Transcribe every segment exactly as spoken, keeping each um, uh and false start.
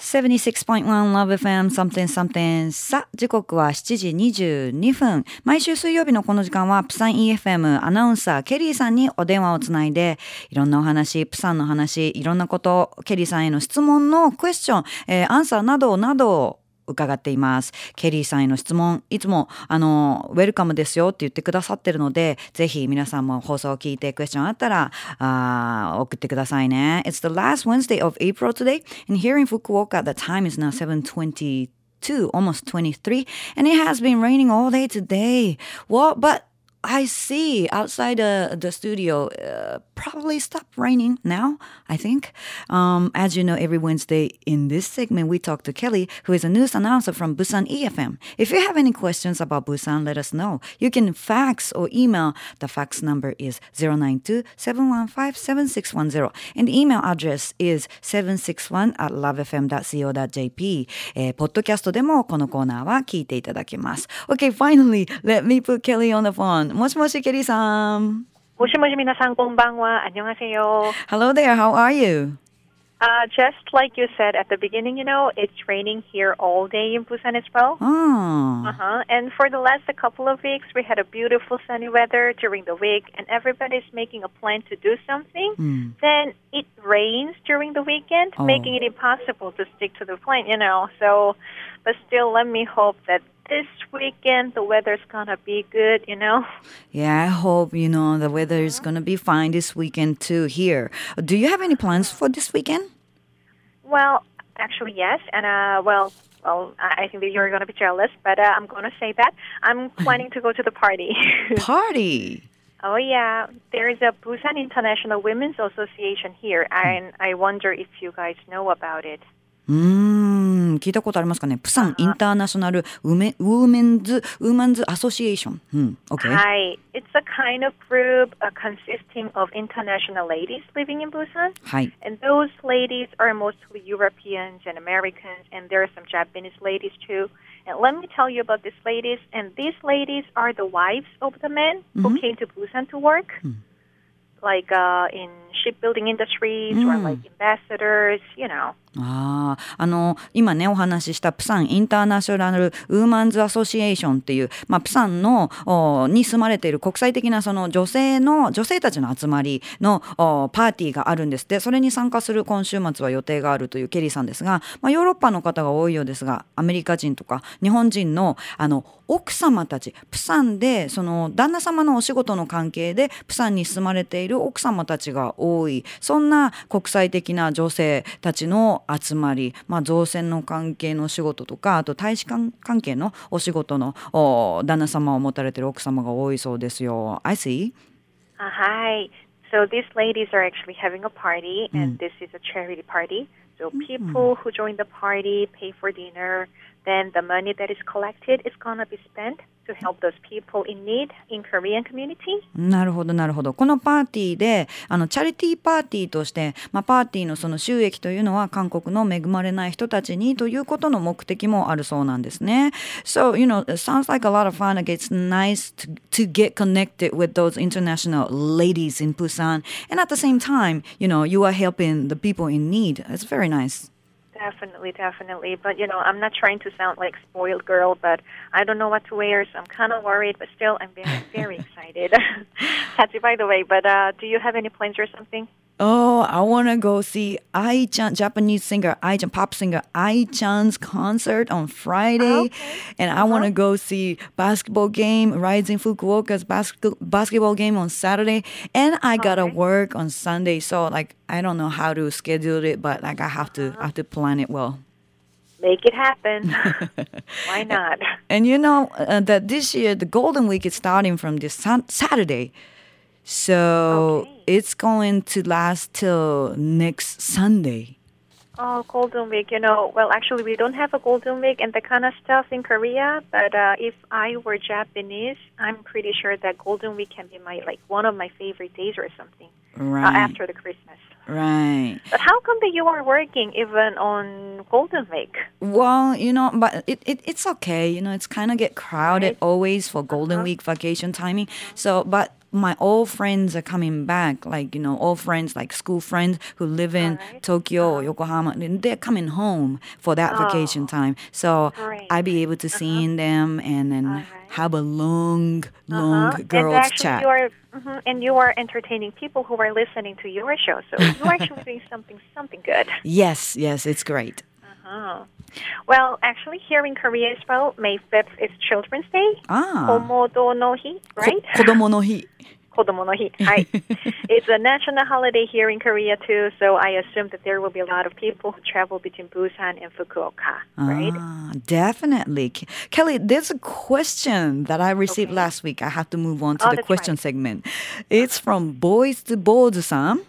セブンティーシックスポイントワン Love エフエム something something さあ時刻はしちじにじゅうにふん。毎週水曜日のこの時間はプサン イーエフエム アナウンサーケリーさんにお電話をつないでいろんなお話、プサンの話、いろんなことケリーさんへの質問のクエスチョン、えー、アンサーなどなど伺っています。ケリーさんへの質問いつもあのウェルカムですよって言ってくださってるので、ぜひ皆さんも放送を聞いてクエスチョンあったらあ送ってくださいね。 It's the last Wednesday of April today and here in Fukuoka the time is now seven twenty-two, almost twenty-three, and it has been raining all day today. Well, but I see outside the, the studio uh, probably stopped raining now, I think. Um, as you know, every Wednesday in this segment, we talk to Kelly, who is a news announcer from Busan E F M. If you have any questions about Busan, let us know. You can fax or email. The fax number is zero nine two, seven one five, seven six one zero. And the email address is seven six one at lovefm dot co dot jp. えー、ポッドキャストでもこのコーナーは聞いていただけます。Okay, finally, let me put Kelly on the phone. もしもし、ケリーさん。 もしもし、皆さん、こんばんは。안녕하세요. Hello there, how are you? Uh, just like you said at the beginning, you know, it's raining here all day in Busan as well. Oh. Uh-huh. And for the last couple of weeks, we had a beautiful sunny weather during the week, and everybody's making a plan to do something. Mm. Then it rains during the weekend, oh. making it impossible to stick to the plan, you know. So, but still, let me hope that this weekend the weather's gonna be good, you know. Yeah, I hope, you know, the weather is gonna be fine this weekend too here. Do you have any plans for this weekend? Well, actually, yes. And, uh, well, well, I think that you're gonna be jealous, but uh, I'm gonna say that. I'm planning to go to the party. Party? Oh, yeah. There is a Busan International Women's Association here, and I wonder if you guys know about it. うーん、聞いたことありますかね。プサンインターナショナルウメウーメンズウーマンズアソシエーション。うん、okay. Hi, it's a kind of group uh, consisting of international ladies living in Busan. はい。 And those ladies are mostly Europeans and Americans, and there are some Japanese ladies too. And let me tell you about these ladies. And these ladies are the wives of the men who Mm-hmm. came to Busan to work. Mm. Like uh, in shipbuilding industries mm. or like ambassadors, you know. ああ、あの今ねお話ししたプサンインターナショナルウーマンズアソシエーションっていう、まあ、プサンのに住まれている国際的なその女性の女性たちの集まりのパーティーがあるんですって。それに参加する今週末は予定があるというケリーさんですが、まあ、ヨーロッパの方が多いようですが、アメリカ人とか日本人のあの奥様たち、プサンでその旦那様のお仕事の関係でプサンに住まれている奥様たちが多い、そんな国際的な女性たちの集まり、まあ、造船の関係の仕事とか、あと大使館関係のお仕事の旦那様を持たれている奥様が多いそうですよ。I see. Uh, hi. So these ladies are actually having a party, and mm. this is a charity party. So people mm. who join the party pay for dinner. Then the money that is collected is going to be spent to help those people in need in Korean community. なるほどなるほど。このパーティーであのチャリティーパーティーとして、まあ、パーティーのその収益というのは韓国の恵まれない人たちにということの目的もあるそうなんですね。So, you know, it sounds like a lot of fun. It's nice to, to get connected with those international ladies in Busan. And at the same time, you know, you are helping the people in need. It's very nice. Definitely, definitely. But, you know, I'm not trying to sound like spoiled girl, but I don't know what to wear, so I'm kind of worried, but still, I'm very, very excited. Tachi, by the way, but uh, do you have any plans or something? Oh, I want to go see Ai-chan, Japanese singer, Ai-chan, pop singer, Ai-chan's concert on Friday. Oh, okay. And uh-huh. I want to go see basketball game, Rising Fukuoka's bas- basketball game on Saturday. And I got to okay. work on Sunday. So, like, I don't know how to schedule it, but, like, I have to, uh-huh. I have to plan it well. Make it happen. Why not? And you know uh, that this year, the Golden Week is starting from this sun- Saturday. So okay. it's going to last till next Sunday. Oh, Golden Week, you know, well, actually, we don't have a Golden Week and that kind of stuff in Korea. But uh, if I were Japanese, I'm pretty sure that Golden Week can be my like one of my favorite days or something. Right. Uh, after the Christmas. Right. But how come that you are working even on Golden Week? Well, you know, but it, it it's okay. You know, it's kind of get crowded Right. always for Golden uh-huh. Week vacation timing. So, but my old friends are coming back, like, you know, old friends, like school friends who live in right. Tokyo or Yokohama, and they're coming home for that Oh, vacation time. So great. I'll be able to see them and then All right. have a long, long Uh-huh. And girls actually, chat. you are, mhm, and you are entertaining people who are listening to your show. So you're actually doing something, something good. Yes, yes, it's great. Uh-huh. Well, actually, here in Korea as well, May fifth is Children's Day. Ah. Komodo no hi, right? 子供の日. Kodomo no hi. Hi. It's a national holiday here in Korea too, so I assume that there will be a lot of people who travel between Busan and Fukuoka, right? Ah, definitely. Ke- Kelly, there's a question that I received Okay. last week. I have to move on to Oh, the that's question right. segment. It's from Boys to Bold-san.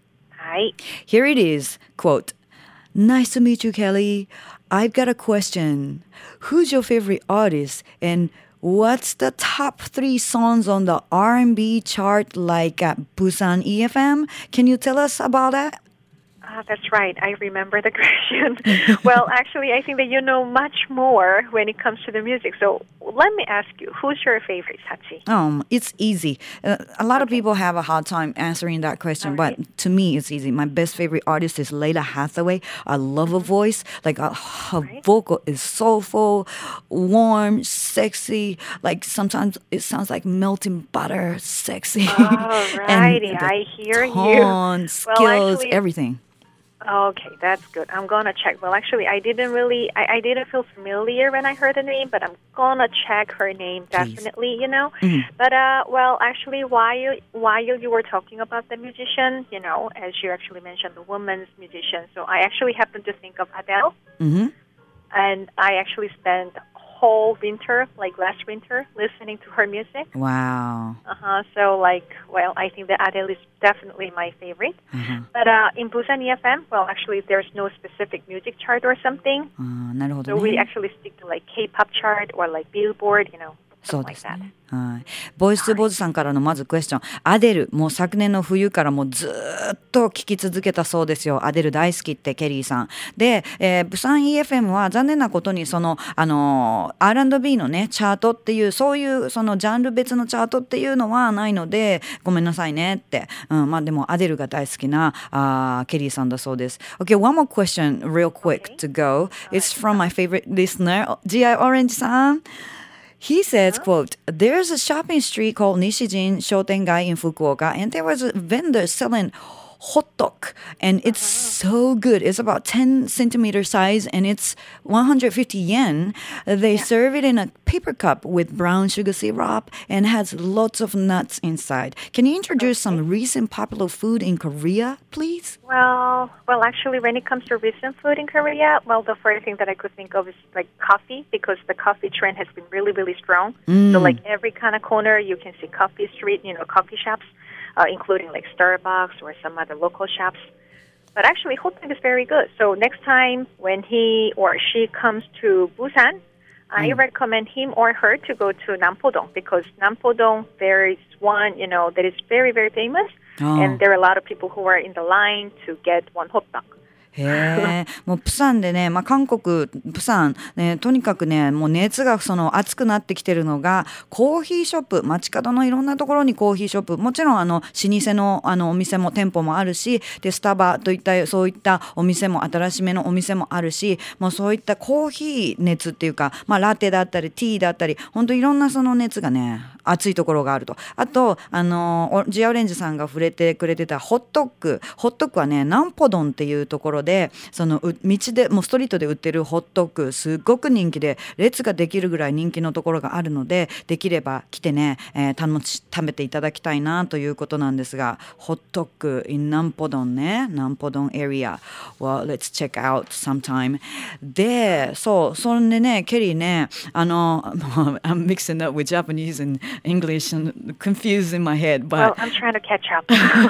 Hi. Here it is. Quote, nice to meet you, Kelly. I've got a question. Who's your favorite artist and what's the top three songs on the R and B chart like at Busan E F M? Can you tell us about that? Ah, that's right. I remember the question. Well, actually, I think that you know much more when it comes to the music. So let me ask you, who's your favorite, Sachi? Um, it's easy. Uh, a lot of Okay. people have a hard time answering that question, All but right. to me, it's easy. My best favorite artist is Layla Hathaway. I love her voice. Like uh, her Right. vocal is soulful, warm, sexy. Like sometimes it sounds like melting butter, sexy. Alrighty, and the I hear you. tone, skills, Well, actually, everything. okay, that's good. I'm gonna check. Well, actually, I didn't really, I, I didn't feel familiar when I heard the name, but I'm gonna check her name Please. definitely. You know, Mhm. but uh, well, actually, while while you were talking about the musician, you know, as you actually mentioned, the woman's musician. So I actually happened to think of Adele, Mm-hmm. and I actually spent whole winter, like last winter, listening to her music. Wow. Uh huh. So like, well, I think that Adele is definitely my favorite. Uh-huh. But uh, in Busan E F M, well, actually, there's no specific music chart or something. あーなるほど So we ね。 actually stick to like K-pop chart or like Billboard, you know, そう something で like す that. ね。はい。ボイス2ボーズさんからのまずクエスチョン。アデル、もう昨年の冬からもうずーっと聴き続けたそうですよ。アデル大好きってケリーさん。で、えー、ブサン イーエフエム は残念なことにその、あのー、アールアンドビー のね、チャートっていう、そういうそのジャンル別のチャートっていうのはないので、ごめんなさいねって。うん、まあでもアデルが大好きなあーケリーさんだそうです。Okay, one more question real quick Okay. to go. It's from my favorite listener, ジーアイ Orange さん。He says, quote, there's a shopping street called Nishijin Shotengai in Fukuoka, and there was a vendor selling hot dog, and it's so good. It's about ten centimeter size, and it's one hundred fifty yen. They serve it in a paper cup with brown sugar syrup and has lots of nuts inside. Can you introduce some recent popular food in Korea, please? Well, well, actually, when it comes to recent food in Korea, well, the first thing that I could think of is like coffee, because the coffee trend has been really, really strong. So, like every kind of corner, you can see coffee street, you know, coffee shops, uh, including like Starbucks or some other local shops. But actually, hot dog is very good. So next time when he or she comes to Busan, I recommend him or her to go to Nampodong, because Nampodong, there is one, you know, that is very, very famous. Oh. And there are a lot of people who are in the line to get one hot dog. へえ、もうプサンでね、まあ、韓国プサンね、とにかくね、もう熱がその熱くなってきてるのがコーヒーショップ、街角のいろんなところにコーヒーショップ、もちろんあの老舗のあのお店も店舗もあるし、でスタバといったそういったお店も新しめのお店もあるし、もうそういったコーヒー熱っていうか、まあ、ラテだったりティーだったり、本当いろんなその熱がね熱いところがあると。あとあのジアオレンジさんが触れてくれてたホットック、ホットックはねナンポドンっていうところで、その道でもうストリートで売ってるホットックすっごく人気で列ができるぐらい人気のところがあるので、できれば来てね、えー、楽し食べていただきたいなということなんですが、ホットック in ナンポドンね、ナンポドン area well let's check out sometime で、そうそんでねケリーね、あのI'm mixing up with Japanese and English and confused in my head, but Well, I'm trying to catch up.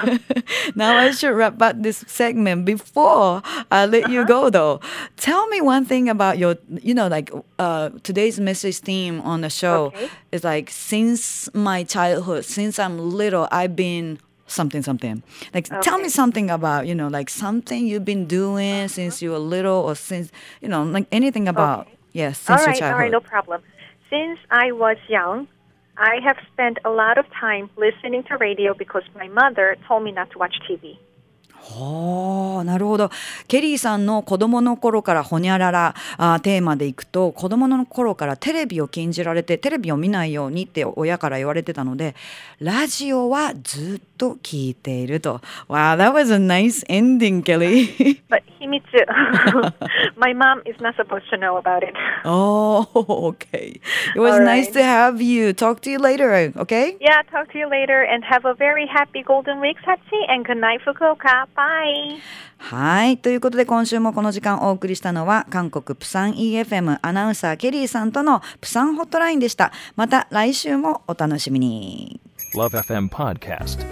now I should wrap up this segment before I let you go, though. Tell me one thing about your, you know, like uh, today's message theme on the show Okay. is like, since my childhood, since I'm little, I've been something, something. Like, tell me Okay. something about, you know, like something you've been doing since you were little or since, you know, like anything about, Okay. yes, All since your right, all childhood. right, no problem. Since I was young, I have spent a lot of time listening to radio because my mother told me not to watch ティーブイ。 はあ、なるほど。ケリーさんの子供の頃からほにゃららあテーマでいくと、子供の頃からテレビを禁じられてテレビを見ないようにって親から言われてたので、ラジオはずっと聞いていると。Wow, that was a nice ending, Kelly. But 秘密。My mom is not supposed to know about it. Oh, okay. It was All nice right. to have you. Talk to you later, okay? Yeah, talk to you later and have a very happy Golden Week, Satsi, and good night, Fukuoka. Bye. はい。ということで今週もこの時間お送りしたのは韓国プサン イーエフエム アナウンサーケリーさんとのプサンホットラインでした。また来週もお楽しみに。 Love エフエム Podcast。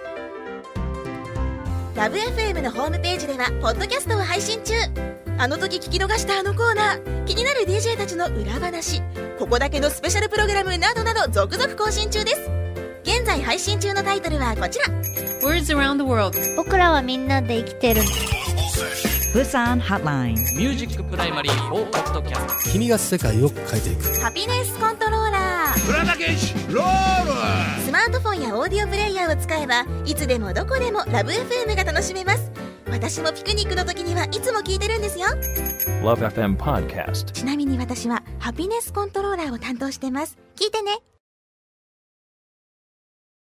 ラブ エフエム のホームページではポッドキャストを配信中。あの時聞き逃したあのコーナー、気になる ディージェー たちの裏話、ここだけのスペシャルプログラムなどなど続々更新中です。現在配信中のタイトルはこちら。 Words around the world。 僕らはみんなで生きてる。 プサンハットライン。 ミュージックプライマリーフォーポッドキャスト。 君が世界を変えていく。 ハピネスコントローラー。 プラダケシロール。 スマートフォンやオーディオプレイヤーを使えばいつでもどこでもラブ エフエム が楽しめます。私もピクニックの時にはいつも聞いてるんですよ。 Love エフエム Podcast。 ちなみに私はハピネスコントローラーを担当してます。聞いてね。